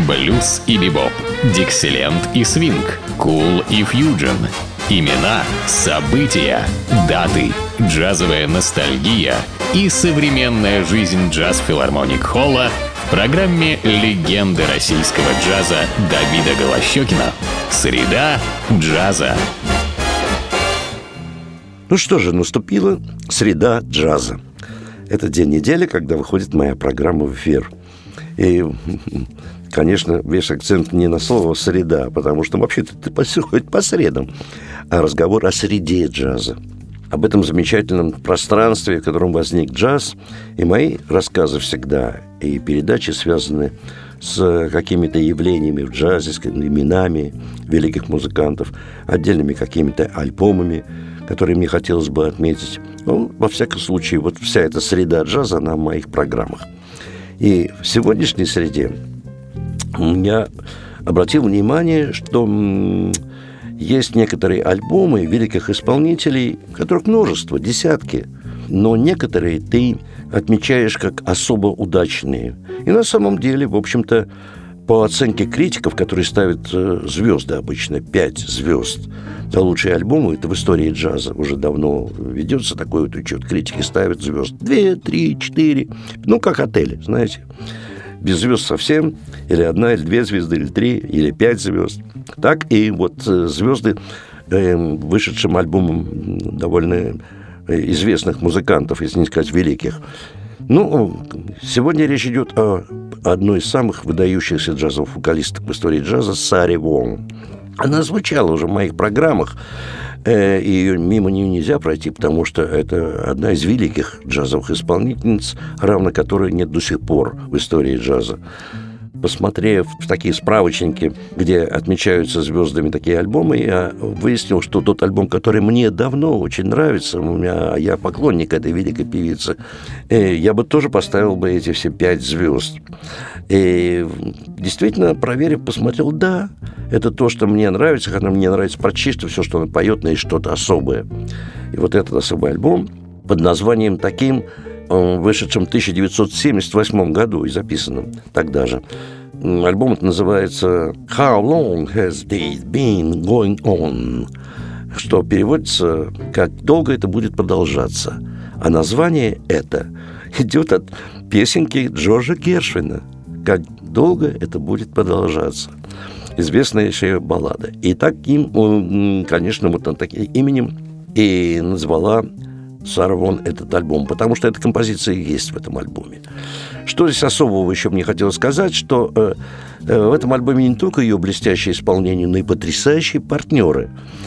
Блюз и бибоп, диксиленд и свинг, кул и фьюджен. Имена, события, даты, джазовая ностальгия и современная жизнь джаз-филармоник Холла в программе «Легенды российского джаза» Давида Голощёкина. Среда джаза. Ну что же, наступила среда джаза. Это день недели, когда выходит моя программа в эфир. И, конечно, весь акцент не на слово «среда», потому что вообще-то это происходит по средам, а разговор о среде джаза. Об этом замечательном пространстве, в котором возник джаз. И мои рассказы всегда, и передачи связаны с какими-то явлениями в джазе, с именами великих музыкантов, отдельными какими-то альбомами, которые мне хотелось бы отметить. Ну, во всяком случае, вот вся эта среда джаза, она в моих программах. И в сегодняшней среде я обратил внимание, что есть некоторые альбомы великих исполнителей, которых множество, десятки, но некоторые ты отмечаешь как особо удачные. И на самом деле, в общем-то, по оценке критиков, которые ставят звезды обычно, 5 звезд за лучшие альбомы, это в истории джаза уже давно ведется такой вот учет. Критики ставят звезд 2, 3, 4, ну, как отели, знаете. Без звезд совсем, или 1, или 2 звезды, или 3, или 5 звезд. Так и вот звезды вышедшим альбомом довольно известных музыкантов, если не сказать великих. Ну, сегодня речь идет о одной из самых выдающихся джазовых вокалисток в истории джаза, Саре Вонг. Она звучала уже в моих программах, и мимо нее нельзя пройти, потому что это одна из великих джазовых исполнительниц, равно которой нет до сих пор в истории джаза. Посмотрев в такие справочники, где отмечаются звездами такие альбомы, я выяснил, что тот альбом, который мне давно очень нравится, я поклонник этой великой певицы, я бы тоже поставил бы эти все 5 звезд. И действительно, проверив, посмотрел, да, это то, что мне нравится, хотя мне нравится прочисто все, что она поет, но есть что-то особое. И вот этот особый альбом под названием таким, вышедшем в 1978 году и записанном тогда же. Альбом это называется «How long has this been going on?», что переводится «Как долго это будет продолжаться?». А название это идет от песенки Джорджа Гершвина «Как долго это будет продолжаться?». Известнейшая баллада. И таким, конечно, вот таким именем и назвала Сара Вонг этот альбом, потому что эта композиция есть в этом альбоме. Что здесь особого еще мне хотелось сказать, что в этом альбоме не только ее блестящее исполнение, но и потрясающие партнеры.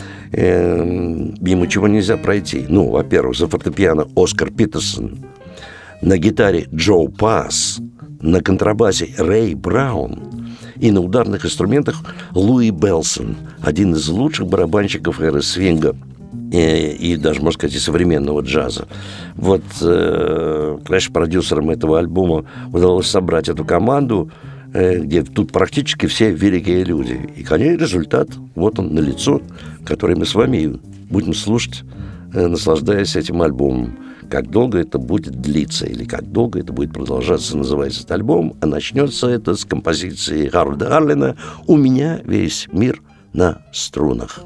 Мимо чего нельзя пройти. Ну, во-первых, за фортепиано Оскар Питерсон, на гитаре Джо Пасс, на контрабасе Рэй Браун и на ударных инструментах Луи Белсон, один из лучших барабанщиков эры свинга и даже, можно сказать, и современного джаза. Вот, конечно, продюсерам этого альбома удалось собрать эту команду, где тут практически все великие люди. И, конечно, результат, вот он налицо, который мы с вами будем слушать, наслаждаясь этим альбомом. «Как долго это будет длиться» или «Как долго это будет продолжаться» называется этот альбом, а начнется это с композиции Харольда Арлена «У меня весь мир на струнах».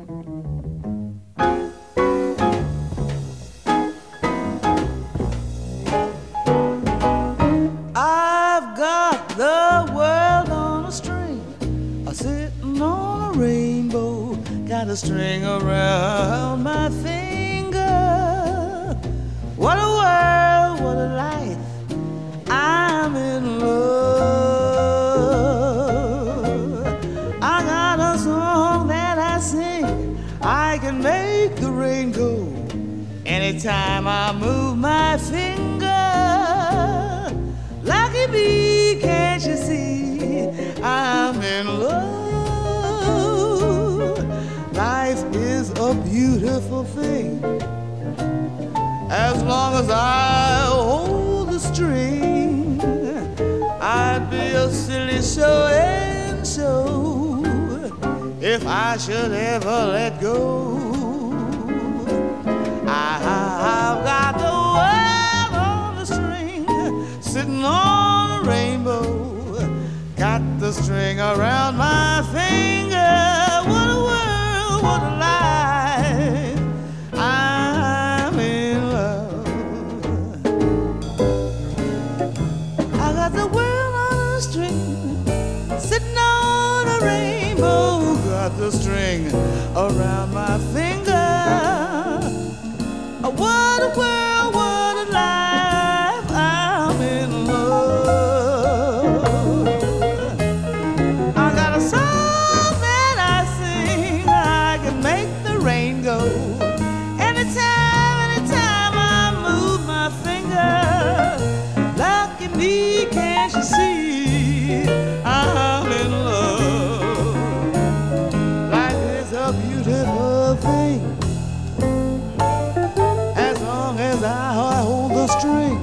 Got a string around my finger. What a world, what a life. I'm in love. I got a song that I sing. I can make the rain go anytime I move my finger. Lucky me, can't you see? I'm in love. Life is a beautiful thing as long as I hold the string. I'd be a silly so-and-so if I should ever let go. I've got the world on the string, sitting on a rainbow. Got the the string around my finger. What a world, what a life. I'm in love. I got the world on a string, sitting on a rainbow. Got the string around my finger. What a world, what a life. I'm in love. I got a song that I sing. I can make the rain go. Anytime I move my finger. Lucky me, can't you see? I'm in love. Life is a beautiful thing. As I hold the string,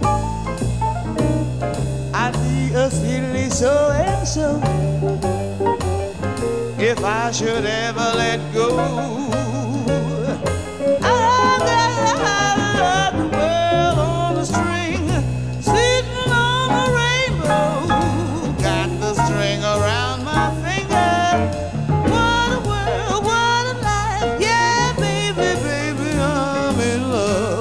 I'd be a silly so and so if I should ever let go. I got the world on the string, sitting on a rainbow. Got the string around my finger. What a world, what a life. Yeah, baby, baby, I'm in love.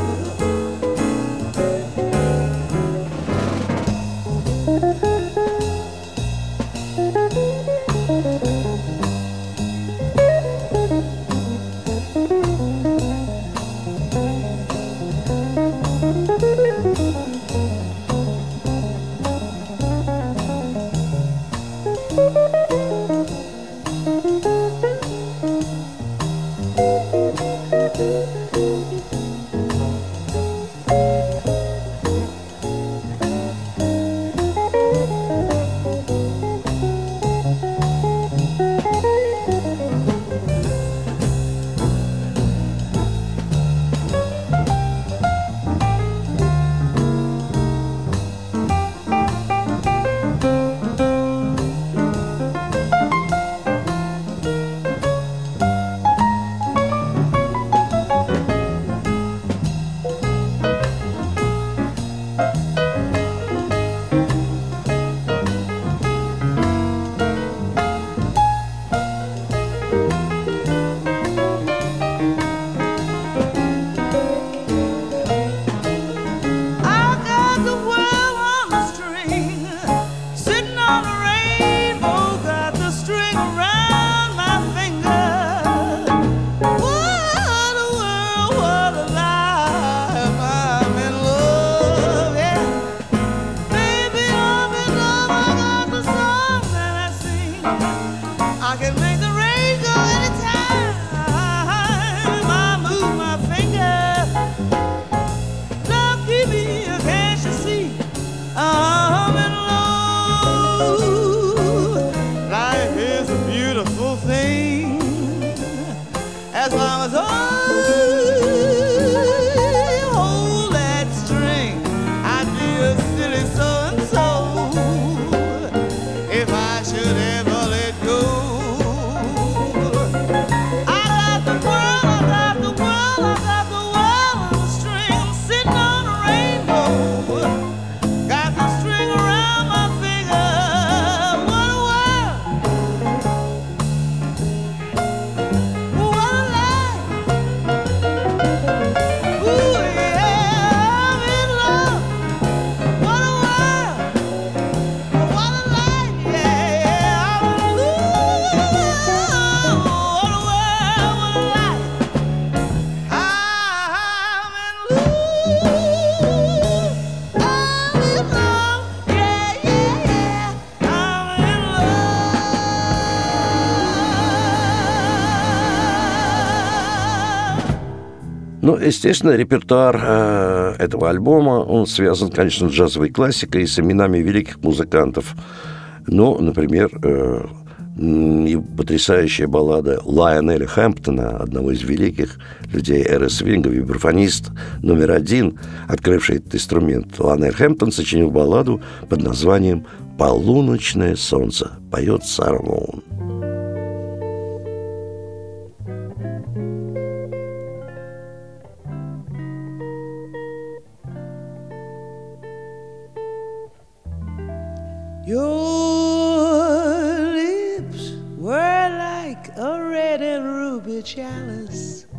Ну, естественно, репертуар этого альбома, он связан, конечно, с джазовой классикой и с именами великих музыкантов. Ну, например, потрясающая баллада Лайонеля Хэмптона, одного из великих людей эры свинга, вибрафонист номер один, открывший этот инструмент. Лайонель Хэмптон сочинил балладу под названием «Полуночное солнце», поет Сара Воун. Your chalice,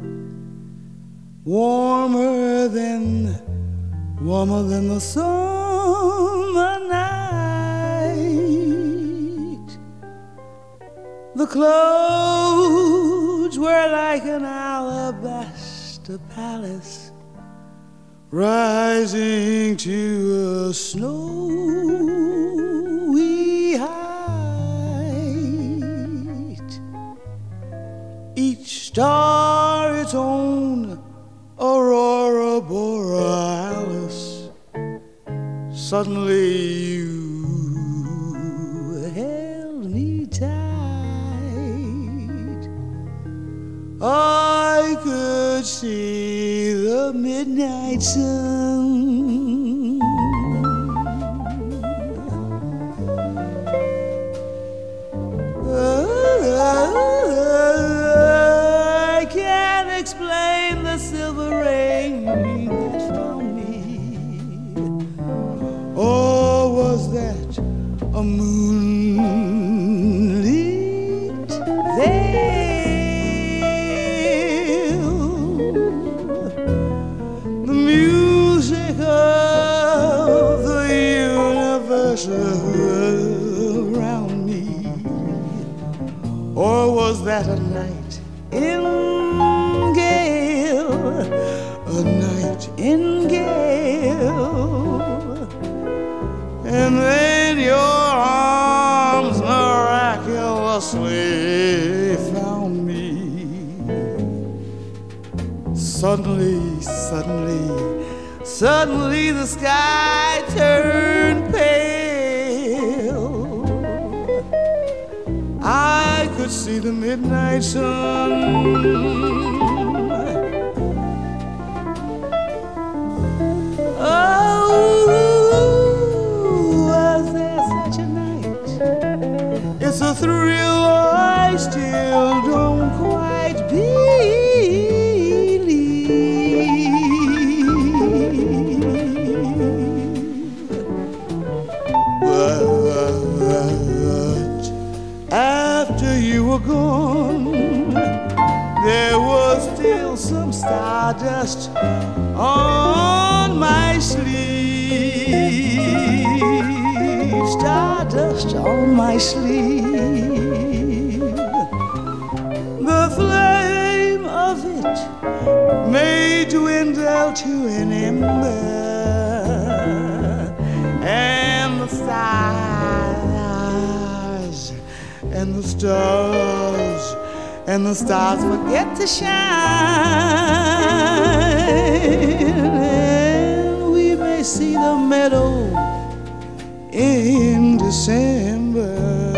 warmer than the summer night. The clothes were like an alabaster palace rising to a snowy height. Each star its own aurora borealis. Suddenly you held me tight. I could see the midnight sun. I can't explain the silver rain that found me. Or was that a moonlit veil? The music of the universe around me. Or was that a night in gale, a night in gale? And then your arms miraculously found me. Suddenly the sky turned pale. I could see the midnight sun. It's a thrill I still don't quite believe. But after you were gone, there was still some stardust on my sleeve. Stardust on my sleeve. The flame of it may dwindle to an ember, and the stars and the stars and the stars forget to shine, and we may see the meadow in December.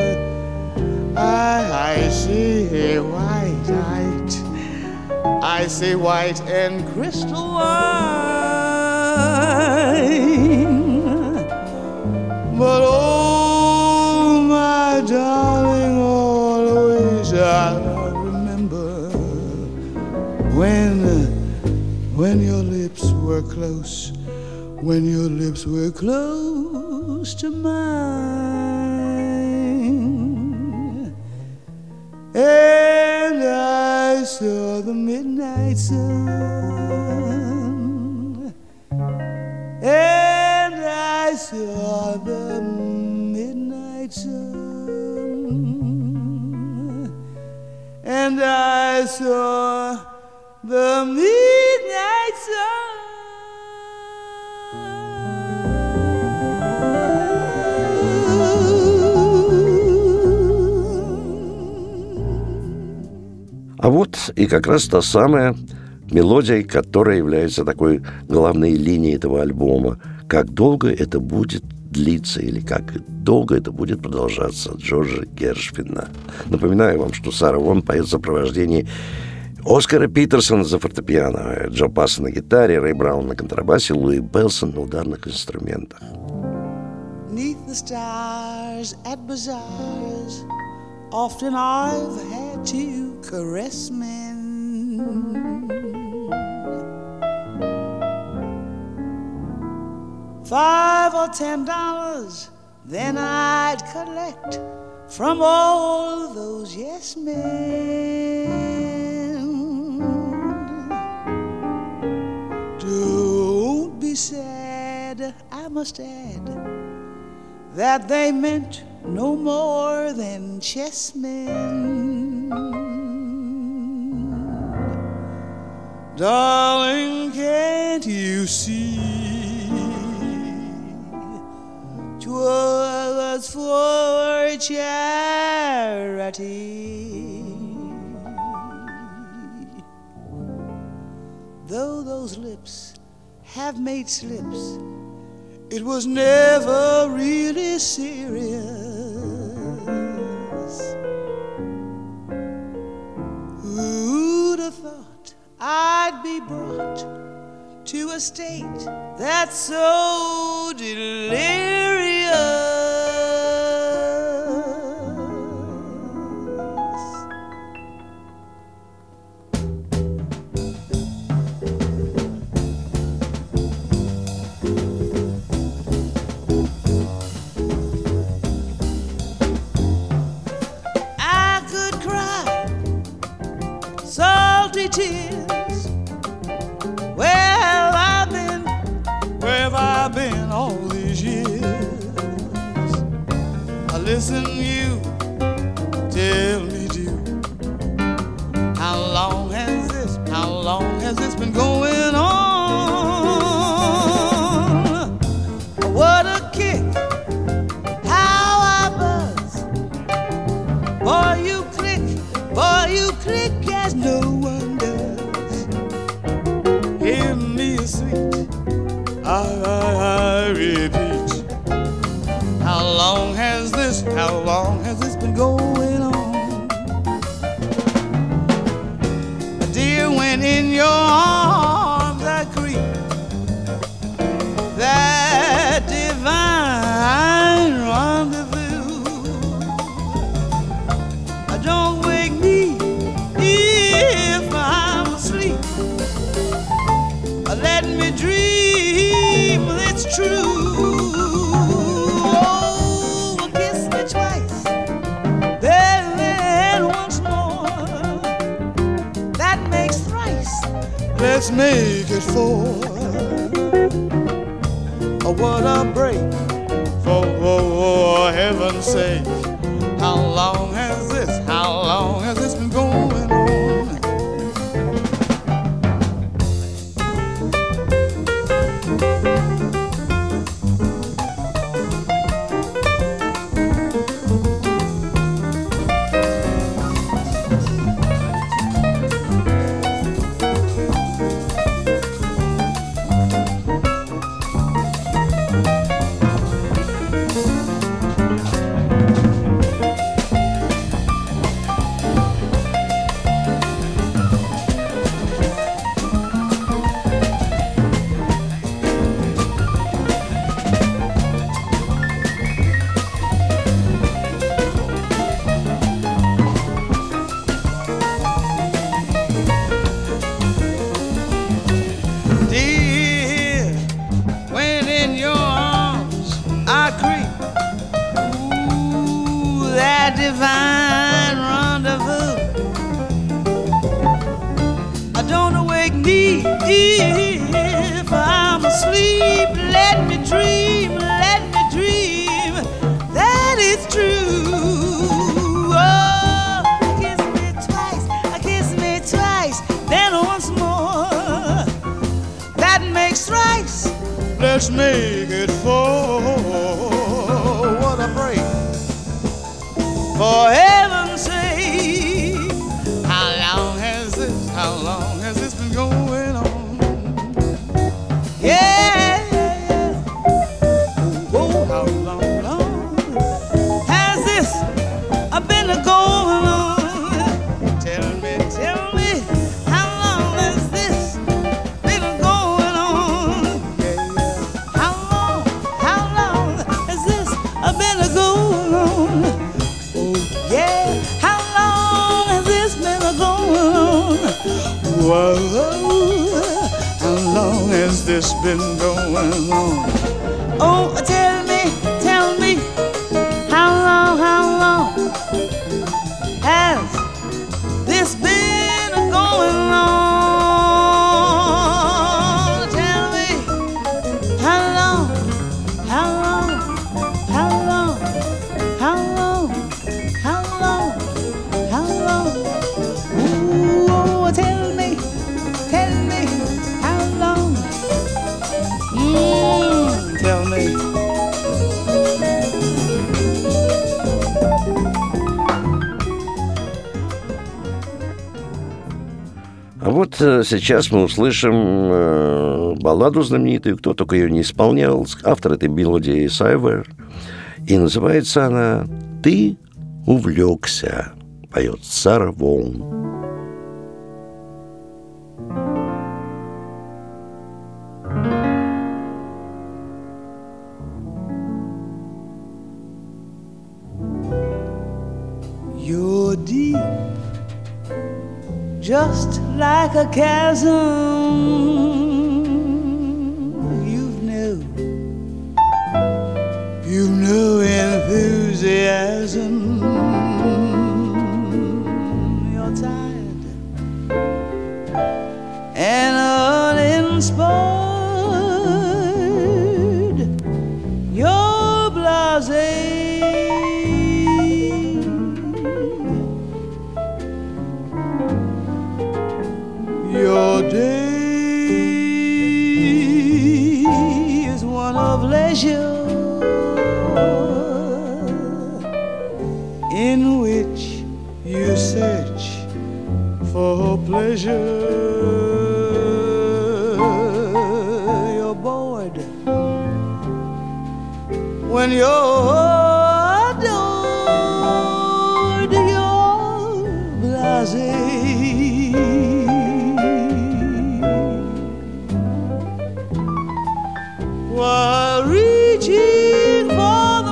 I see white, I see white and crystalline. But oh, my darling, always I remember when your lips were close, when your lips were close to mine, and I saw the midnight sun, and I saw the midnight sun, and I saw the midnight sun. А вот и как раз та самая мелодия, которая является такой главной линией этого альбома. Как долго это будет длиться или как долго это будет продолжаться, Джорджа Гершвина. Напоминаю вам, что Сара Вон поет в сопровождении Оскара Питерсона за фортепиано, Джо Пасса на гитаре, Рэй Браун на контрабасе, Луи Белсон на ударных инструментах. Neath the stars at bazaars, often I've had to caress men. $5 or $10, then I'd collect from all those yes men. sad, I must add, that they meant no more than chessmen. Darling, can't you see 'twas for charity? Though those lips have made slips, it was never really serious. Who'd have thought I'd be brought to a state that's so delirious? Tears. Well, where have I been all these years? Listen, you tell me, dear, how long has this been going on? What a kick, how I buzz. Boy, you click as no one. Give me a sweet, I repeat. How long has this been going on? Dear, when in your arms I creep, that divine rendezvous, don't wake me if I'm asleep. Let me dream, it's true. Oh, kiss me twice, then once more. That makes thrice. Let's make it four. Oh, what a break, for heaven's sake. How long has this been going on? Divine rendezvous. Don't wake me if I'm asleep. Let me dream, that is true. Oh, kiss me twice, then once more. That makes thrice. Let's make it four. What a break. For heaven's sake, how long has this been going on? Yeah, oh, how long has this been going on? Tell me, how long has this been going on? Yeah, how long has this been going on? Yeah, how long has this been going on? Whoa, how long has this been going on? Oh, tell me, how long has this been going on? Tell me, вот сейчас мы услышим балладу знаменитую, кто только ее не исполнял. Автор этой мелодии Сайвер. И называется она «Ты увлекся», поет Сара Воун. You're deep, just like a chasm. You've no enthusiasm. You're tired and uninspired. You're blasé. Your day is one of leisure, in which you search for pleasure. You're bored when you're adored. You're blasé. While reaching for the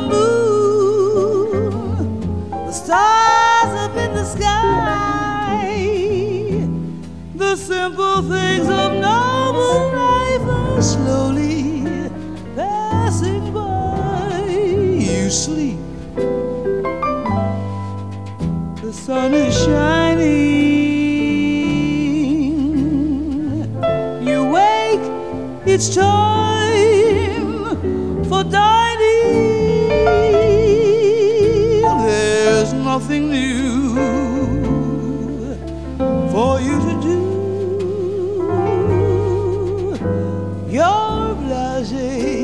moon, the stars up in the sky, the simple things of noble life are slowly passing by. You sleep, the sun is shining. You wake, it's time for dining. There's nothing new for you to do. You're blasé.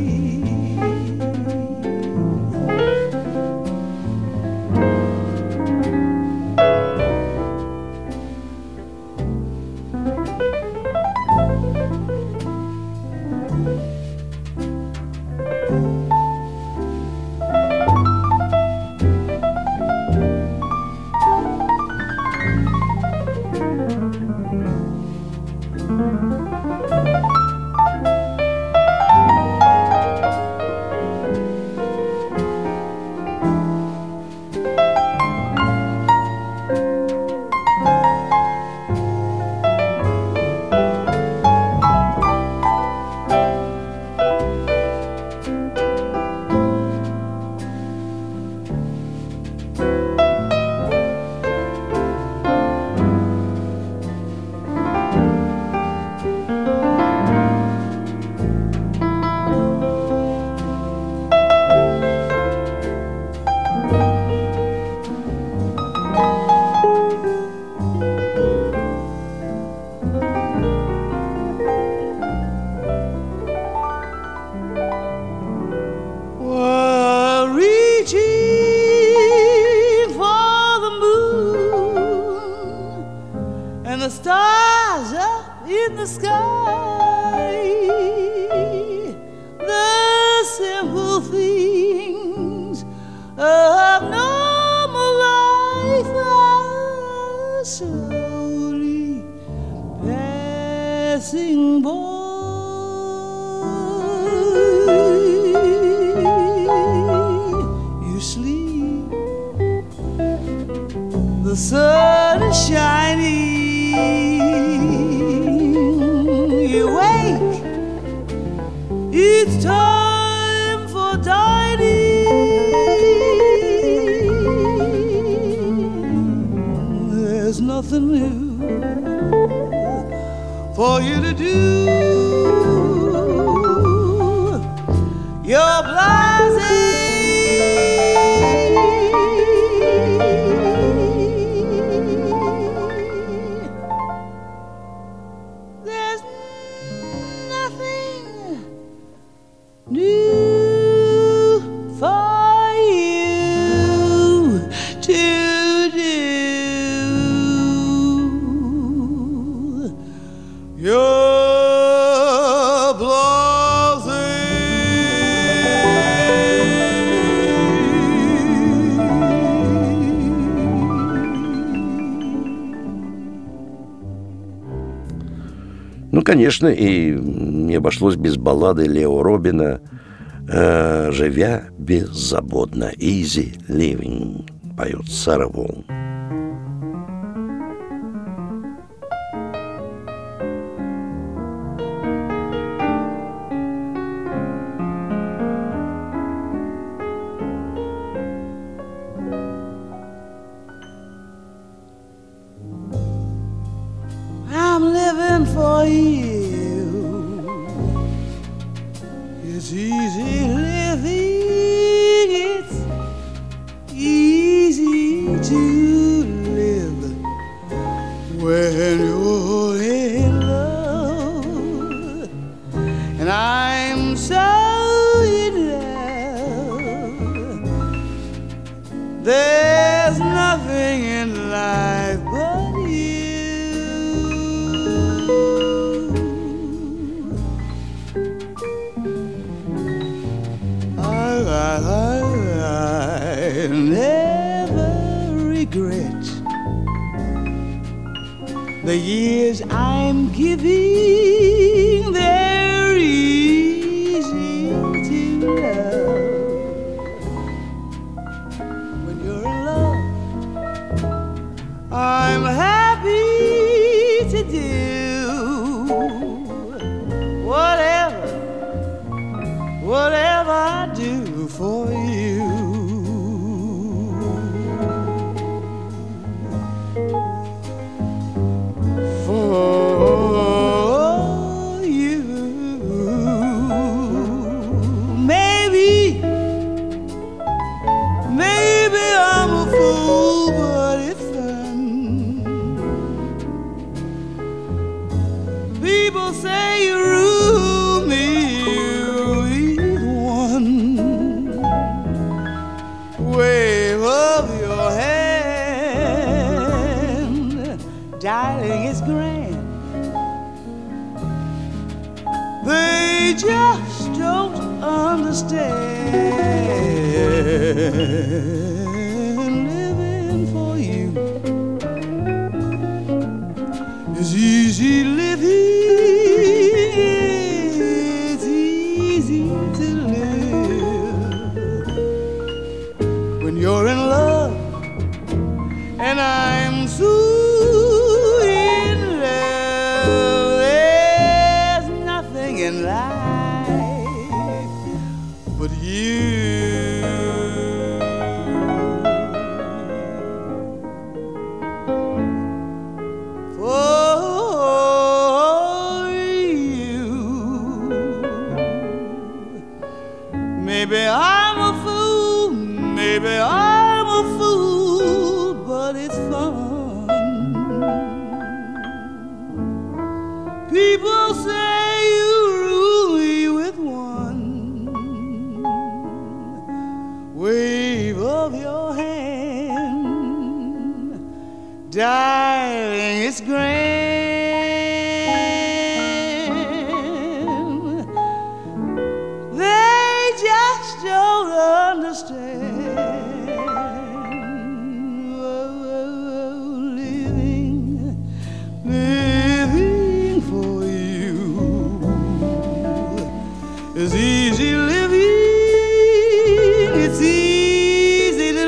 The stars up in the sky, the simple things of normal life are slowly passing by. You sleep, the sun is shining. You wake, it's time for dining. There's nothing new for you to do. You're blasé. конечно, и не обошлось без баллады Лео Робина «Живя беззаботно», «Easy Living», поет Сара Волн. I'm living for you. It's easy living. It's easy to live when you're in love. And I'm so in love. There's nothing in life but you. I never regret the years I'm giving. They're easy to love when you're in love. I'm happy to do whatever I do for you. For you. Maybe I'm a fool, but it's fun. People say you rule me. Wave of your hand, darling, it's grand. They just don't understand. Living for you is easy living. It's easy to live when you're in love, and I'm so in love. There's nothing in life but you. For you. Maybe I'm a fool, maybe I'm a fool, but it's fun. People say you rule me with one wave of your hand, darling, it's grand. They just don't understand. Living for you is easy living. It's easy to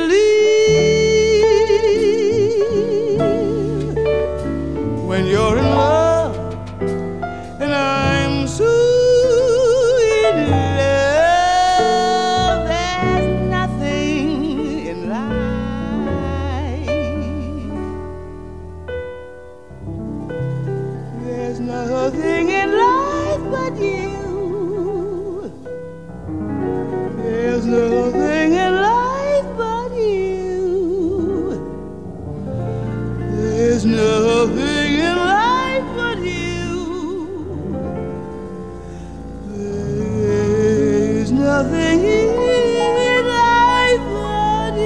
live when you're in love, and I'm so in love. There's nothing in life. There's nothing in life but you. There's nothing in life but you. There's nothing in life but you. There's nothing in life but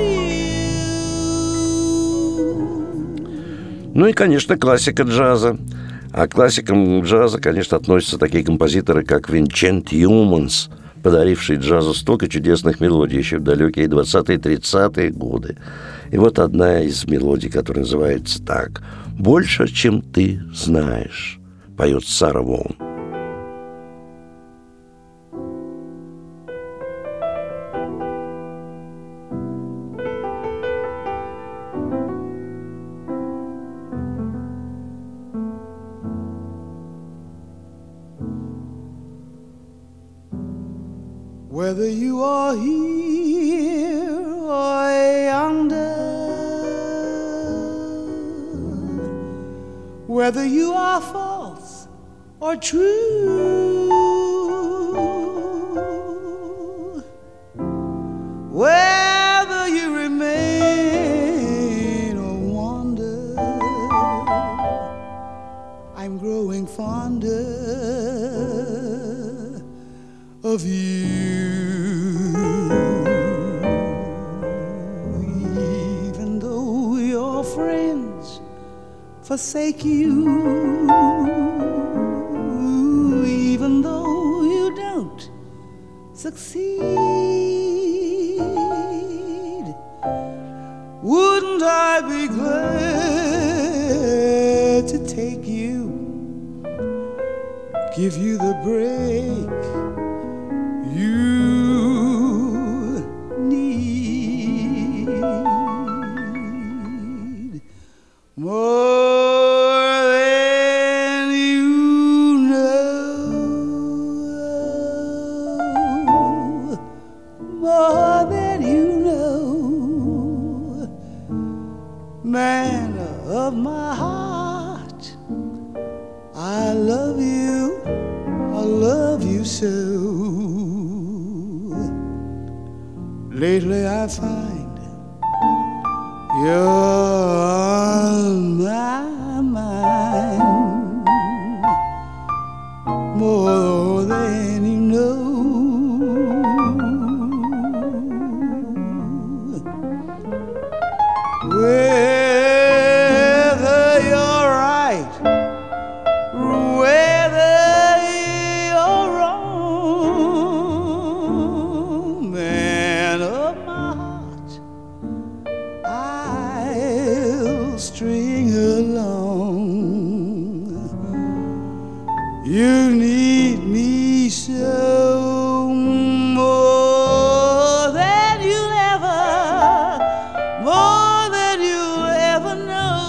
you. Ну и, конечно, классика джаза. А к классикам джаза, конечно, относятся такие композиторы, как Винчент Юманс, подаривший джазу столько чудесных мелодий еще в далекие 20-е, 30-е годы. И вот одна из мелодий, которая называется так: «Больше, чем ты знаешь». поет Сара Воун. Whether you are here or yonder, whether you are false or true, whether you remain or wander, I'm growing fonder of you. Even though your friends forsake you, even though you don't succeed, wouldn't I be glad to take you, give you the break you need, more than you know, more than you know, man of my heart, I love you so. Lately I find you're on my mind, more than you know. Whether you're right, whether you're wrong, man of my heart, I'll string along. You need me so, more than you'll ever know.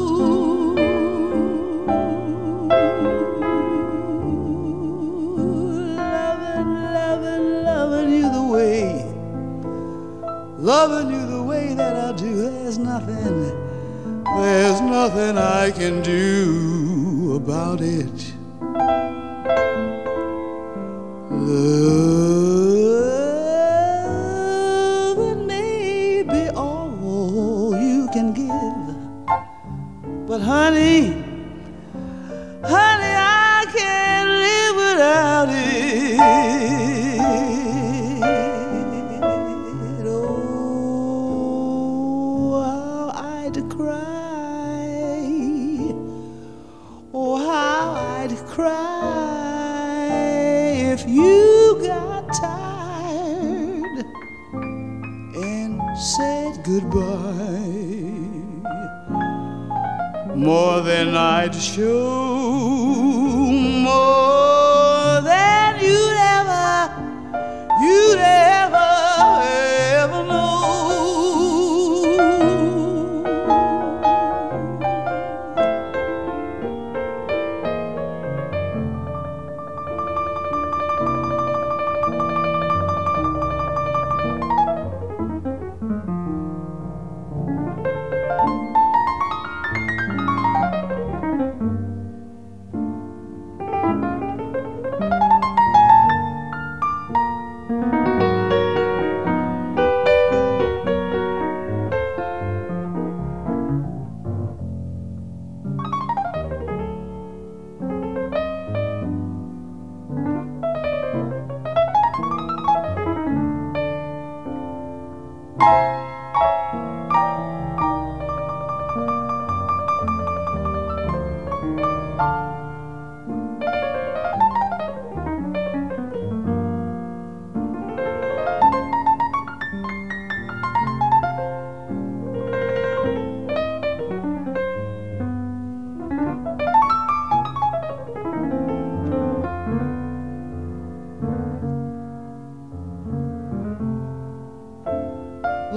Loving you the way that I do. There's nothing I can do about it. Loving may be all you can give, but honey, I can't live without it. Oh, how I'd cry. Oh, how I'd cry if you got tired and said goodbye. More than I'd show, more than you'd ever know.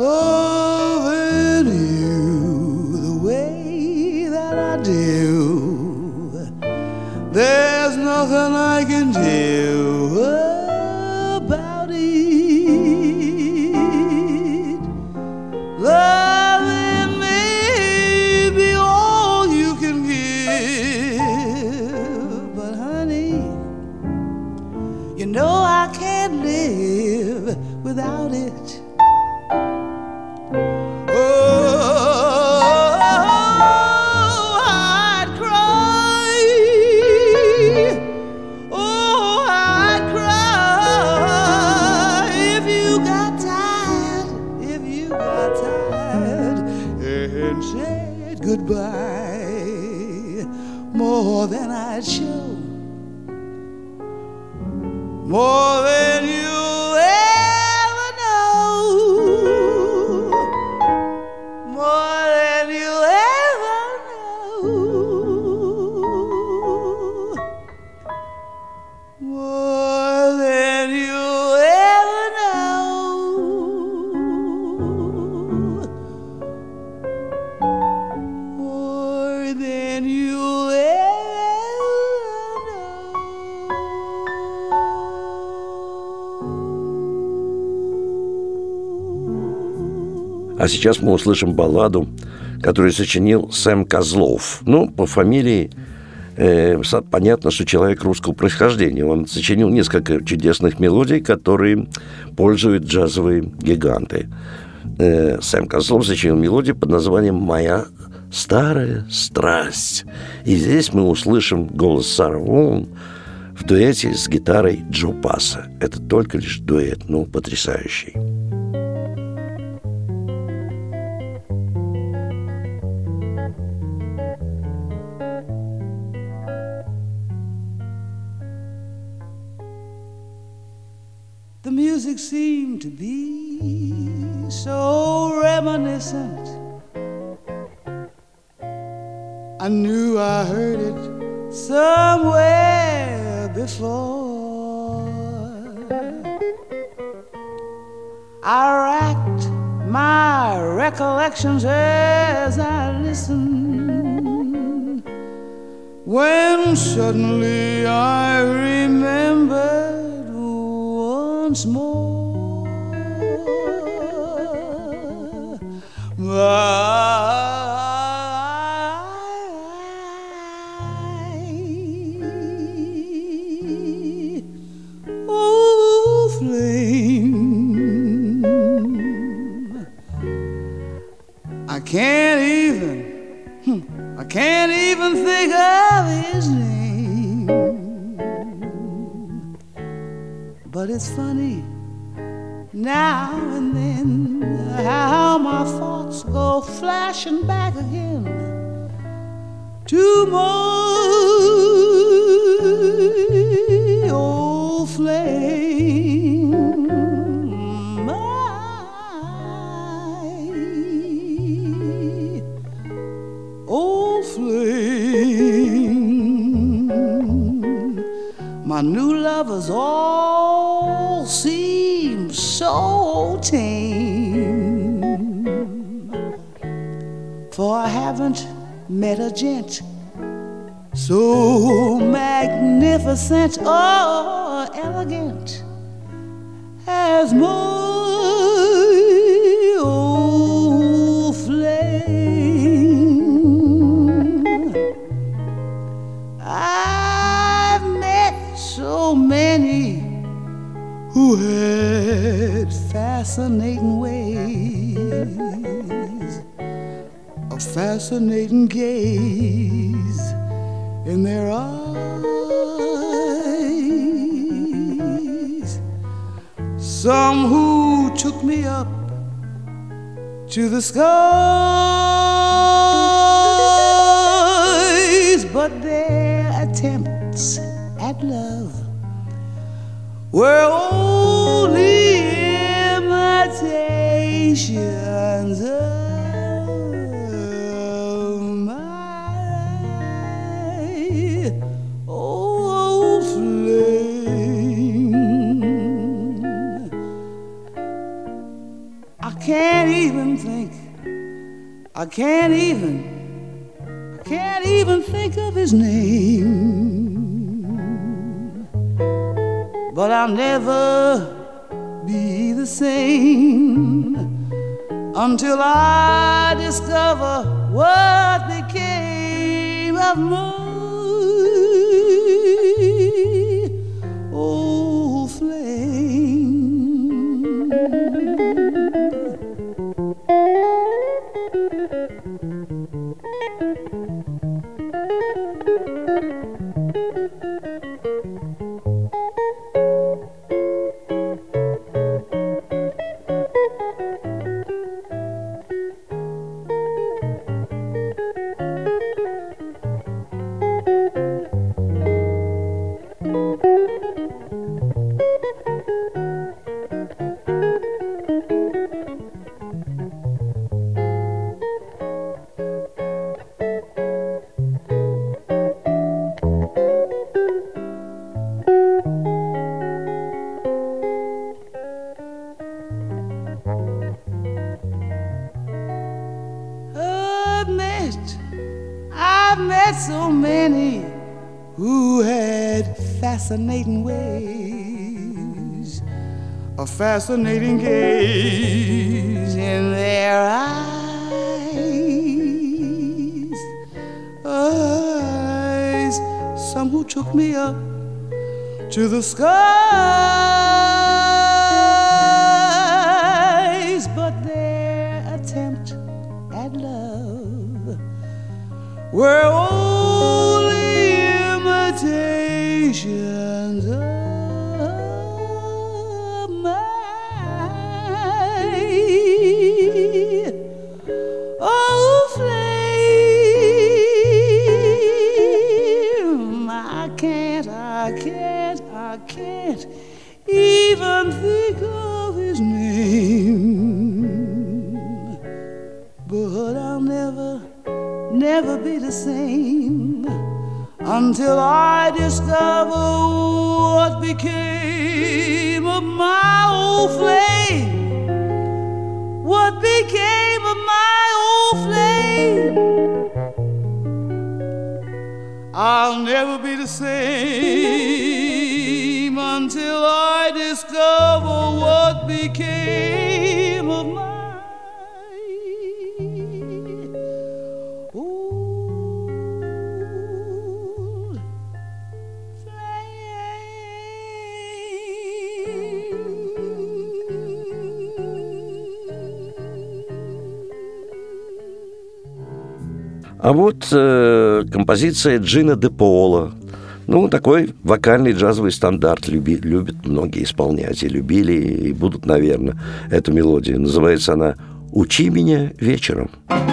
loving you the way that I do. There's nothing I can do about it. Loving may be all you can give, but honey, you know I can't live without it. Goodbye, more than I'd show, more than you'll ever know, more than you'll ever know, more than you'll ever know. А сейчас мы услышим балладу, которую сочинил Сэм Козлов. Ну, по фамилии понятно, что человек русского происхождения. Он сочинил несколько чудесных мелодий, которые пользуют джазовые гиганты. Сэм Козлов сочинил мелодию под названием «Моя старая страсть». И здесь мы услышим голос Сары Воун в дуэте с гитарой Джо Пасса. Это только лишь дуэт, но потрясающий. The music seemed to be so reminiscent. I knew I heard it somewhere before. I racked my recollections as I listened, when suddenly I remembered once more. Oh, flame, I can't even think of his name. But it's funny now and then how my thoughts go flashing back again to my old flame, my old flame. My new lovers all seem so tame, for I haven't met a gent so magnificent or elegant as my old flame. I've met so many who had fascinating ways, a fascinating gaze in their eyes. Some who took me up to the skies, but their attempts at love were only imitations of my old flame. I can't even think. I can't even think of his name. But I'll never be the same until I discover what became of my old flame. I've met so many who had fascinating ways, a fascinating gaze in their eyes, some who took me up to the skies, but their attempt at love were only imitations of my old flame. I can't even think of his name, but I'll never be the same until I discover what became of my old flame. What became of my old flame? I'll never be the same until I discover what became of my А вот композиция Джина де Пола. Ну, такой вокальный джазовый стандарт. Любят многие исполнять. И любили, и будут, наверное, эту мелодию. Называется она «Учи меня вечером».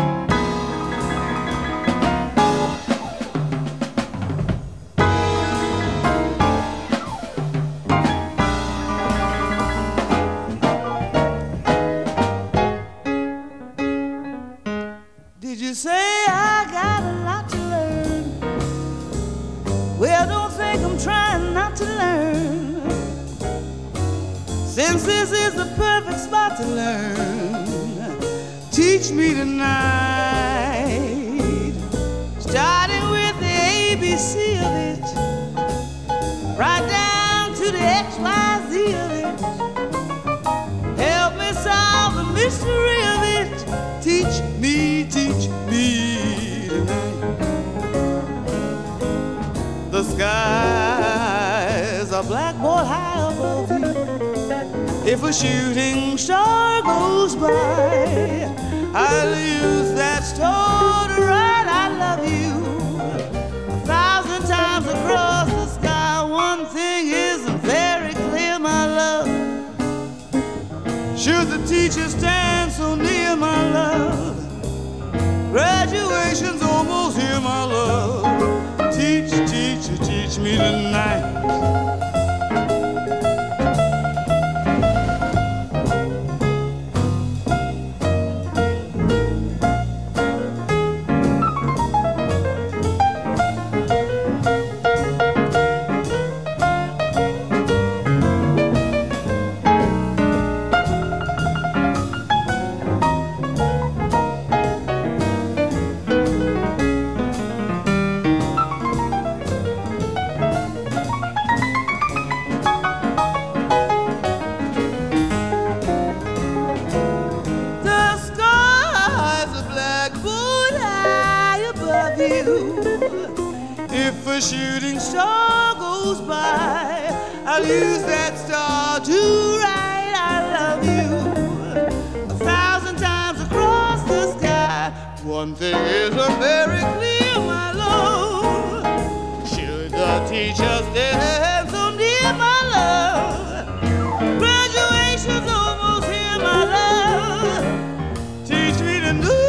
Did you say I got a lot to learn? Well, don't think I'm trying not to learn, since this is the perfect spot to learn. Teach me tonight, starting with the ABC of it, right down to the XYZ of it. Help me solve the mystery of it. Teach me tonight. The skies are blackboard high above you. If a shooting star goes by, I'll use that star to write I love you 1,000 times across the sky. One thing isn't very clear, my love. Should the teacher stand so near, my love? Graduation's almost here, my love. Teach me tonight. a shooting star goes by, I'll use that star to write I love you 1,000 times across the sky. One thing is very clear, my love, should the teacher stand so near, my love, graduation's almost here, my love, teach me to know.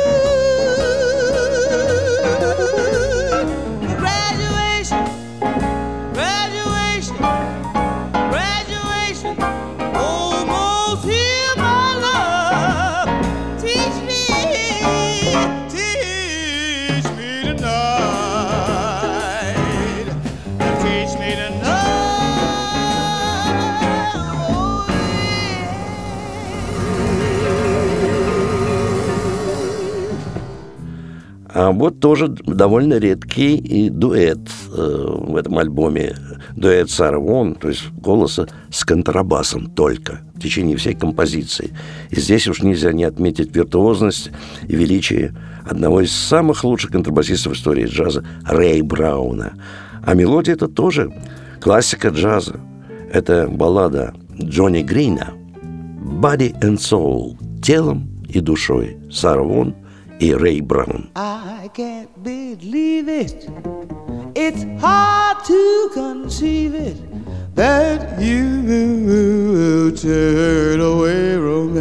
А вот тоже довольно редкий и дуэт в этом альбоме. Дуэт Сары Вон, то есть голоса с контрабасом только в течение всей композиции. И здесь уж нельзя не отметить виртуозность и величие одного из самых лучших контрабасистов в истории джаза Рэя Брауна. А мелодия это тоже классика джаза. Это баллада Джонни Грина «Body and Soul» – телом и душой. Сара Вон и Рэй Браун. I can't believe it. It's hard to conceive it that you will turn away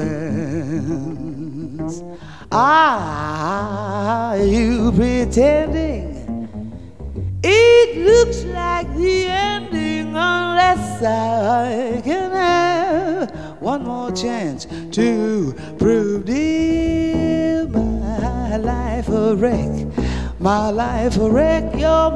romance. Are you pretending? It looks like the ending unless I can have one more chance to prove, dear, my life a wreck, my life a wreck you're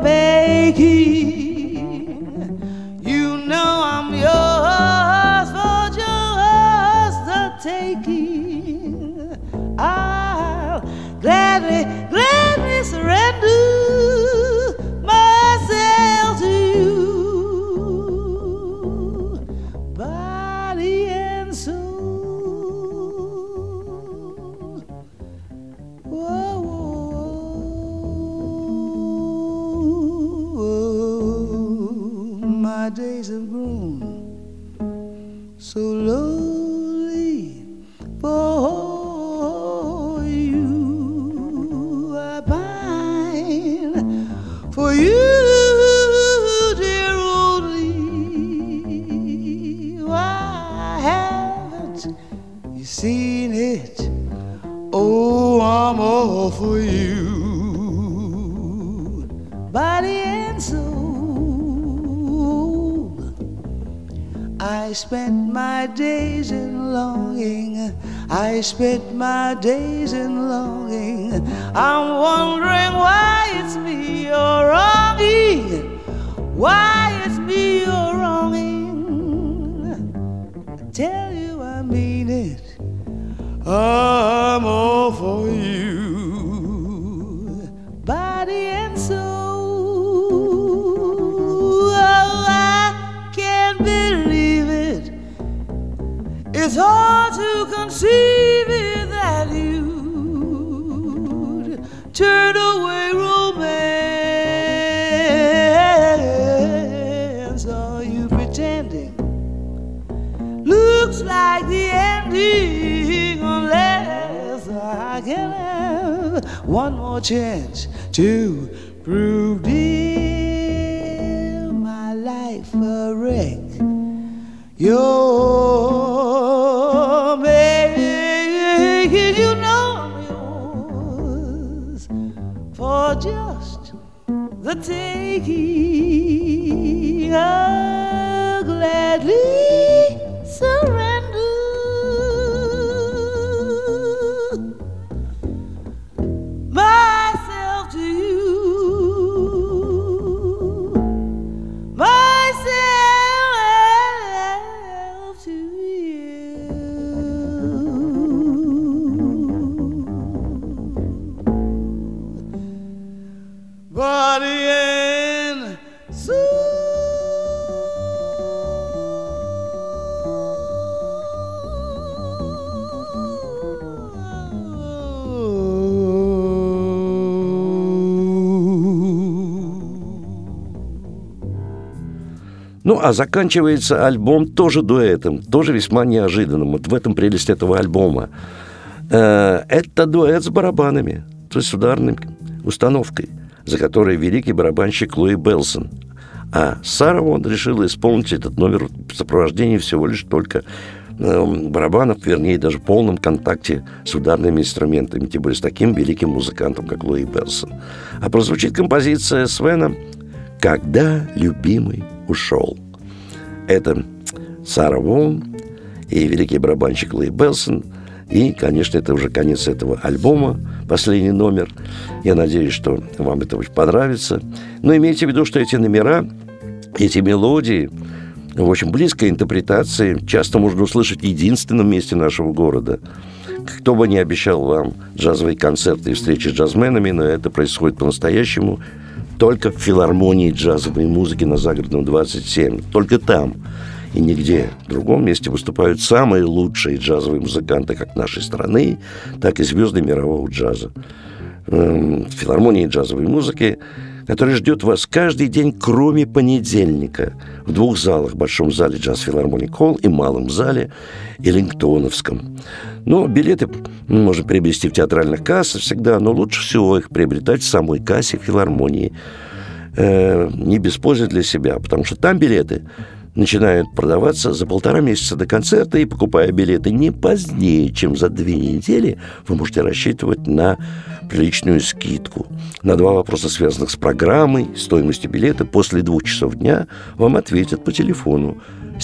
making. You know I'm yours for just the taking. I'll gladly, gladly surrender myself to you, body and soul. Whoa, whoa, whoa. My days have grown so lonely for you. I pine for you, dear, only. Why haven't you seen it? Oh, I'm all for you, body and soul. I spent my days in longing, I spent my days in longing. I'm wondering why it's me you're wronging, why it's me you're wronging. I tell you I mean it, I'm all for you, body and soul. Oh, I can't believe it. It's hard to conceive it that you'd turn away romance. Are you pretending? Looks like the ending unless I can have one more chance to prove, dear, my life a wreck. You're making, you know I'm yours for just the taking. I'll gladly surrender myself to you, myself to you, body and soul. Ну, а заканчивается альбом тоже дуэтом, тоже весьма неожиданным. Вот в этом прелесть этого альбома. Это дуэт с барабанами, то есть с ударной установкой, за которой великий барабанщик Луи Белсон. А Сара Вон решила исполнить этот номер в сопровождении всего лишь только барабанов, вернее, даже в полном контакте с ударными инструментами, тем более с таким великим музыкантом, как Луи Белсон. А прозвучит композиция Свена «Когда любимый ушел». Это Сара Вон и великий барабанщик Луи Белсон. И, конечно, это уже конец этого альбома, последний номер. Я надеюсь, что вам это очень понравится. Но имейте в виду, что эти номера, эти мелодии в очень близкой интерпретации часто можно услышать в единственном месте нашего города. Кто бы ни обещал вам джазовые концерты и встречи с джазменами, но это происходит по-настоящему только в филармонии джазовой музыки на Загородном 27. Только там и нигде в другом месте выступают самые лучшие джазовые музыканты как нашей страны, так и звезды мирового джаза. В филармонии джазовой музыки, который ждет вас каждый день, кроме понедельника, в двух залах: Большом зале Джаз Филармоник Холл и Малом зале Эллингтоновском. Но билеты можно приобрести в театральных кассах всегда, но лучше всего их приобретать в самой кассе филармонии. Не без пользы для себя, потому что там билеты начинают продаваться за 1,5 месяца до концерта, и, покупая билеты не позднее, чем за 2 недели, вы можете рассчитывать на приличную скидку. На 2 вопроса, связанных с программой, стоимостью билета, после 2 часов дня вам ответят по телефону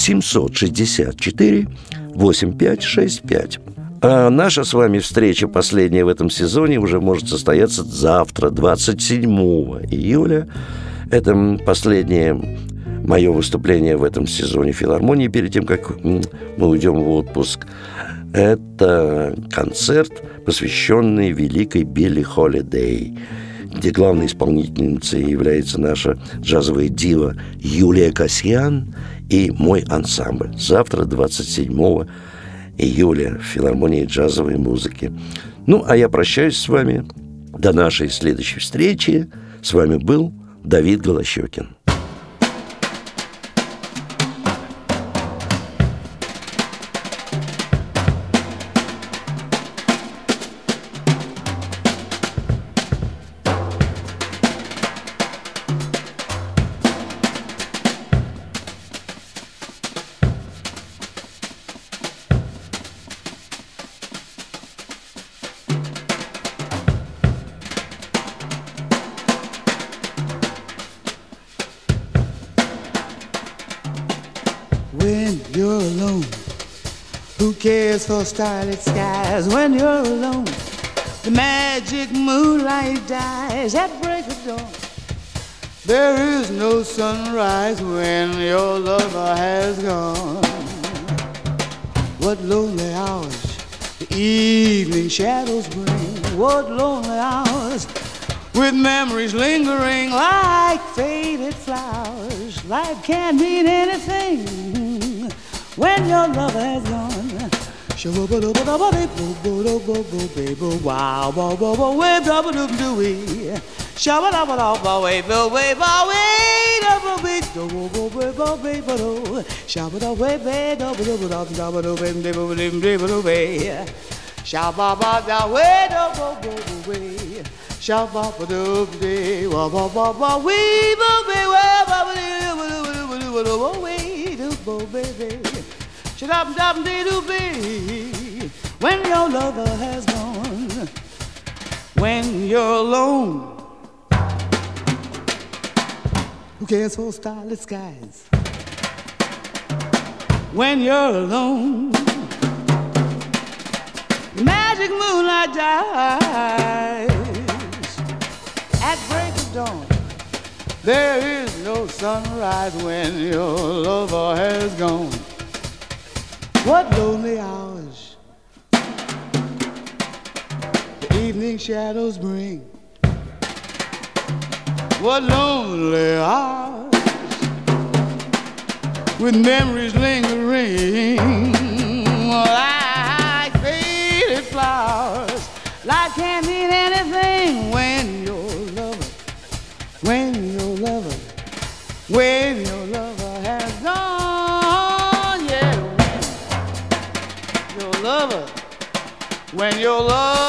764 8565. А наша с вами встреча, последняя в этом сезоне, уже может состояться завтра, 27 июля. Это последнее мое выступление в этом сезоне филармонии перед тем, как мы уйдем в отпуск. Это концерт, посвященный великой Билли Холидей, где главной исполнительницей является наша джазовая дива Юлия Касьян и мой ансамбль. Завтра, 27 июля, в филармонии джазовой музыки. Ну, а я прощаюсь с вами. До нашей следующей встречи. С вами был Давид Голощёкин. When you're alone, who cares for starlit skies? When you're alone, the magic moonlight dies at break of dawn. There is no sunrise when your lover has gone. What lonely hours the evening shadows bring. What lonely hours with memories lingering like faded flowers. Life can't mean anything when your lover has gone. When your lover has gone, when you're alone, who cares for starlit skies? When you're alone, the magic moonlight dies at break of dawn. There is no sunrise when your lover has gone. What lonely hours the evening shadows bring. What lonely hours with memories lingering like faded flowers. Life can't mean anything when your lover has when your love